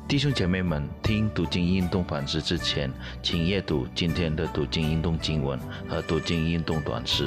弟兄姐妹们，听读经运动反思之前，请阅读今天的读经运动经文和读经运动短诗。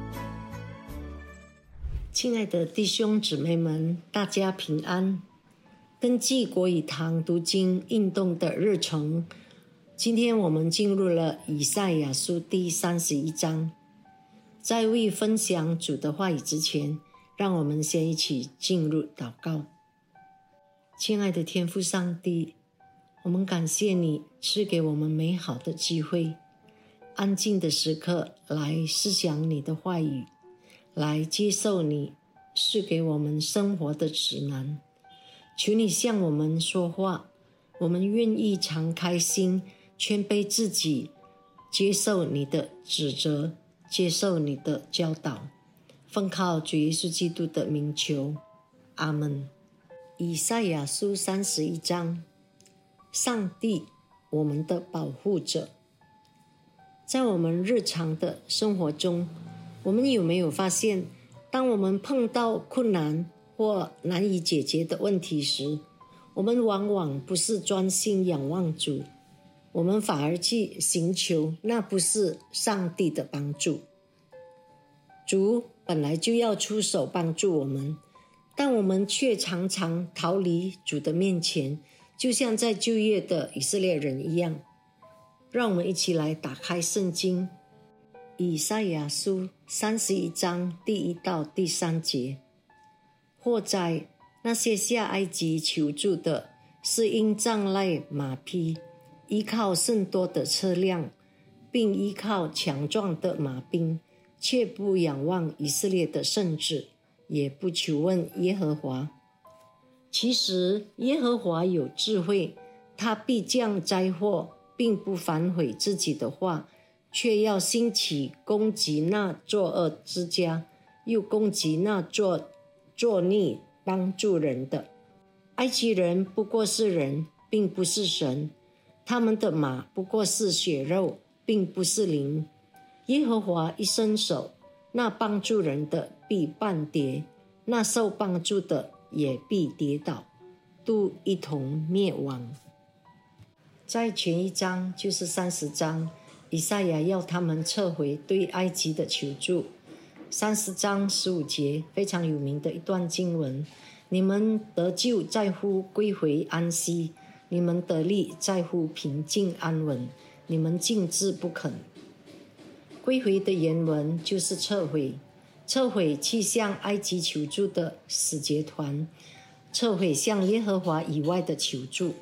亲爱的弟兄姊妹们，大家平安。根据国语堂读经运动的日程，今天我们进入了以赛亚书第31章。在未分享主的话语之前，让我们先一起进入祷告。亲爱的天父上帝，我们感谢你赐给我们美好的机会，安静的时刻来思想你的话语，来接受你赐给我们生活的指南。求你向我们说话，我们愿意敞开心，谦卑自己，接受你的指责，接受你的教导，奉靠主耶稣基督的名求，阿们。以赛亚书31章，上帝，我们的保护者。在我们日常的生活中，我们有没有发现，当我们碰到困难或难以解决的问题时，我们往往不是专心仰望主，我们反而去寻求那不是上帝的帮助。主本来就要出手帮助我们，但我们却常常逃离主的面前，就像在旧约的以色列人一样。让我们一起来打开圣经，以赛亚书31章第1到第3节。或在那些下埃及求助的，是因仗赖马匹，依靠甚多的车辆，并依靠强壮的马兵，却不仰望以色列的圣者，也不求问耶和华。其实耶和华有智慧，他必降灾祸，并不反悔自己的话，却要兴起攻击那作恶之家，又攻击那作逆帮助人的。埃及人不过是人，并不是神，他们的马不过是血肉，并不是灵。耶和华一伸手，那帮助人的必半跌，那受帮助的也必跌倒，都一同灭亡。在前一章，就是30章，以赛亚要他们撤回对埃及的求助。30章15节，非常有名的一段经文：你们得救在乎归回安息，你们得力在乎平静安稳，你们静置不肯。归回的原文就是撤回，撤回去向埃及求助的使节团，撤回向耶和华以外的求救。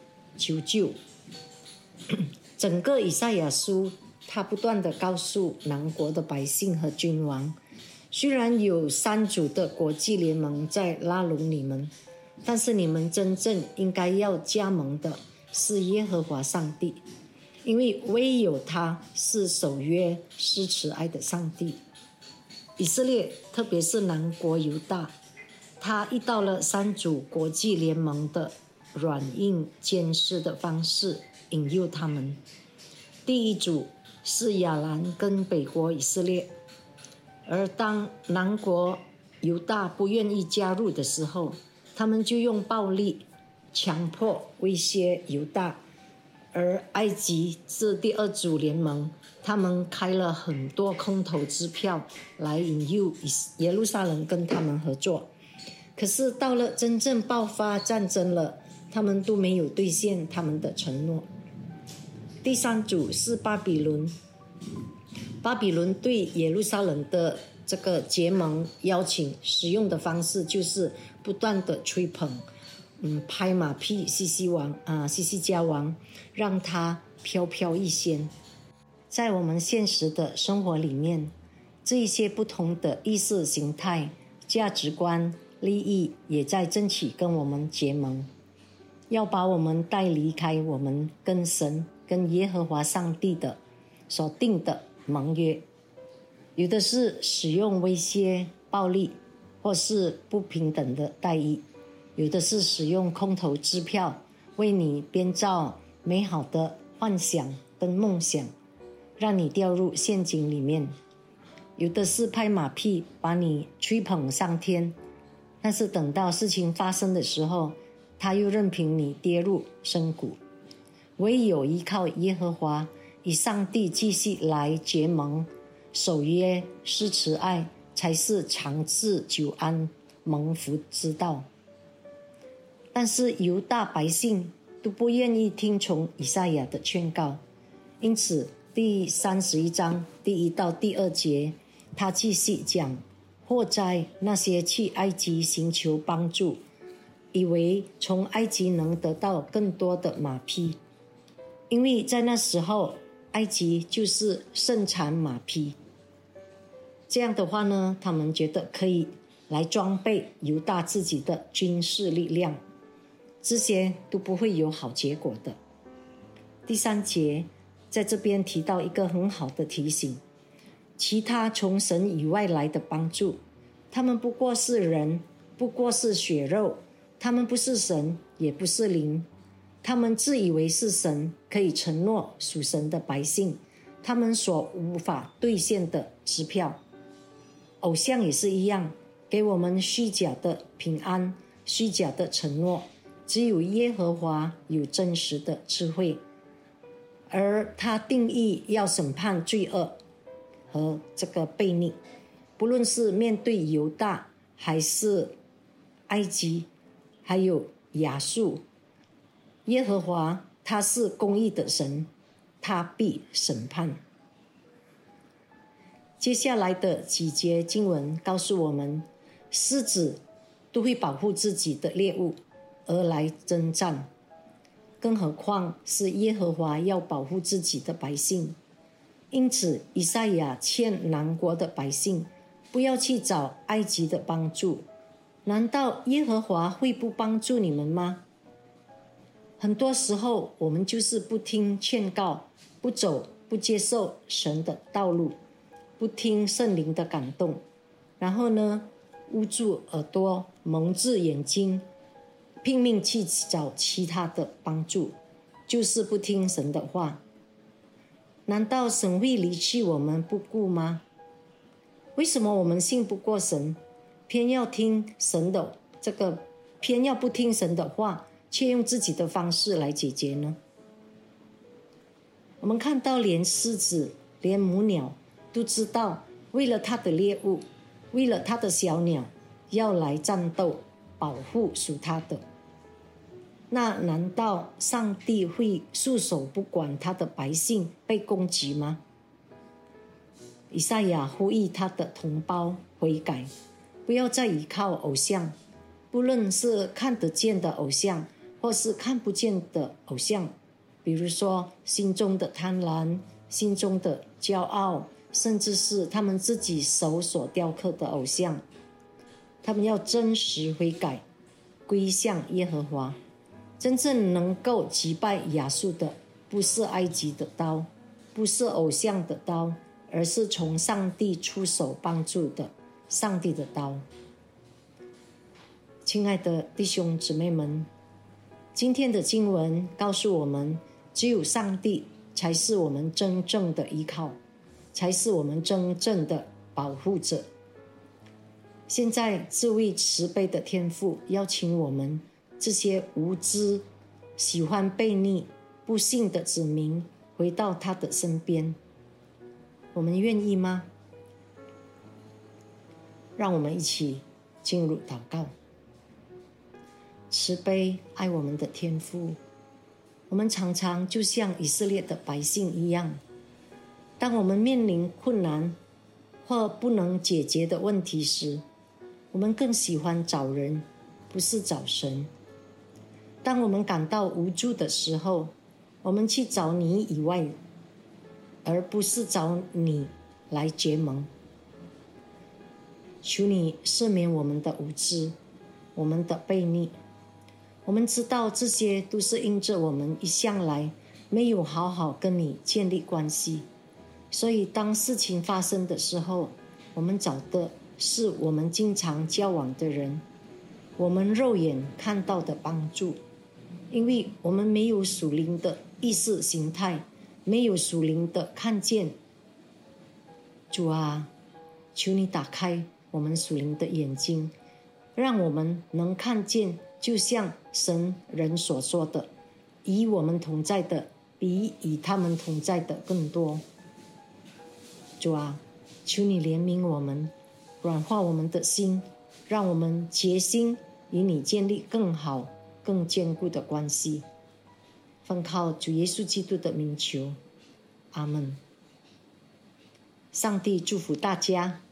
整个以赛亚书，他不断地告诉南国的百姓和君王，虽然有3组的国际联盟在拉拢你们，但是你们真正应该要加盟的是耶和华上帝，因为唯有他是守约施慈爱的上帝。以色列，特别是南国犹大，他遇到了3组国际联盟的软硬兼施的方式引诱他们。第一组是亚兰跟北国以色列，而当南国犹大不愿意加入的时候，他们就用暴力强迫威胁犹大。而埃及是第2组联盟，他们开了很多空头支票来引诱耶路撒冷跟他们合作。可是到了真正爆发战争了，他们都没有兑现他们的承诺。第3组是巴比伦，巴比伦对耶路撒冷的这个结盟邀请使用的方式就是不断的吹捧，拍马屁西西家王，让他飘飘欲仙。在我们现实的生活里面，这一些不同的意识形态、价值观、利益也在争取跟我们结盟，要把我们带离开我们跟神、跟耶和华上帝的所定的盟约。有的是使用威胁、暴力，或是不平等的待遇；有的是使用空头支票，为你编造美好的幻想跟梦想，让你掉入陷阱里面；有的是拍马屁，把你吹捧上天，但是等到事情发生的时候， 他又任凭你跌入深谷。唯有依靠耶和华，以上帝继续来结盟，守约施慈爱，才是长治久安蒙福之道。但是犹大百姓都不愿意听从以赛亚的劝告，因此第31章第1到第2节，他继续讲：祸哉那些去埃及寻求帮助，以为从埃及能得到更多的马匹，因为在那时候埃及就是盛产马匹。这样的话呢，他们觉得可以来装备犹大自己的军事力量，这些都不会有好结果的。第3节在这边提到一个很好的提醒：其他从神以外来的帮助，他们不过是人，不过是血肉，他们不是神，也不是灵。他们自以为是神，可以承诺属神的百姓他们所无法兑现的支票。偶像也是一样，给我们虚假的平安，虚假的承诺。只有耶和华有真实的智慧，而他定义要审判罪恶和这个悖逆。不论是面对犹大，还是埃及，还有亚述，耶和华他是公义的神，他必审判。接下来的几节经文告诉我们，狮子都会保护自己的猎物而来征战，更何况是耶和华要保护自己的百姓。因此以赛亚劝南国的百姓不要去找埃及的帮助。难道耶和华会不帮助你们吗？很多时候我们就是不听劝告，不走不接受神的道路，不听圣灵的感动，然后呢，捂住耳朵，蒙住眼睛，拼命去找其他的帮助，就是不听神的话。难道神会离弃我们不顾吗？为什么我们信不过神，偏要不听神的话，却用自己的方式来解决呢？我们看到连狮子，连母鸟都知道，为了它的猎物，为了它的小鸟，要来战斗，保护属它的。那难道上帝会束手不管他的百姓被攻击吗？以赛亚呼吁他的同胞悔改，不要再依靠偶像，不论是看得见的偶像，或是看不见的偶像，比如说心中的贪婪，心中的骄傲，甚至是他们自己手所雕刻的偶像。他们要真实悔改，归向耶和华。真正能够击败亚述的，不是埃及的刀，不是偶像的刀，而是从上帝出手帮助的上帝的刀。亲爱的弟兄姊妹们，今天的经文告诉我们，只有上帝才是我们真正的依靠，才是我们真正的保护者。现在这位慈悲的天父邀请我们这些无知、喜欢悖逆、不信的子民回到他的身边，我们愿意吗？让我们一起进入祷告。慈悲爱我们的天父，我们常常就像以色列的百姓一样，当我们面临困难或不能解决的问题时，我们更喜欢找人，不是找神。当我们感到无助的时候，我们去找你以外，而不是找你来结盟。求你赦免我们的无知，我们的悖逆。我们知道这些都是因着我们一向来没有好好跟你建立关系，所以当事情发生的时候，我们找的是我们经常交往的人，我们肉眼看到的帮助。因为我们没有属灵的意识形态，没有属灵的看见。主啊，求你打开我们属灵的眼睛，让我们能看见就像神人所说的，与我们同在的比与他们同在的更多。主啊，求你怜悯我们，软化我们的心，让我们决心与你建立更好更坚固的关系。奉靠主耶稣基督的名求，阿们。上帝祝福大家。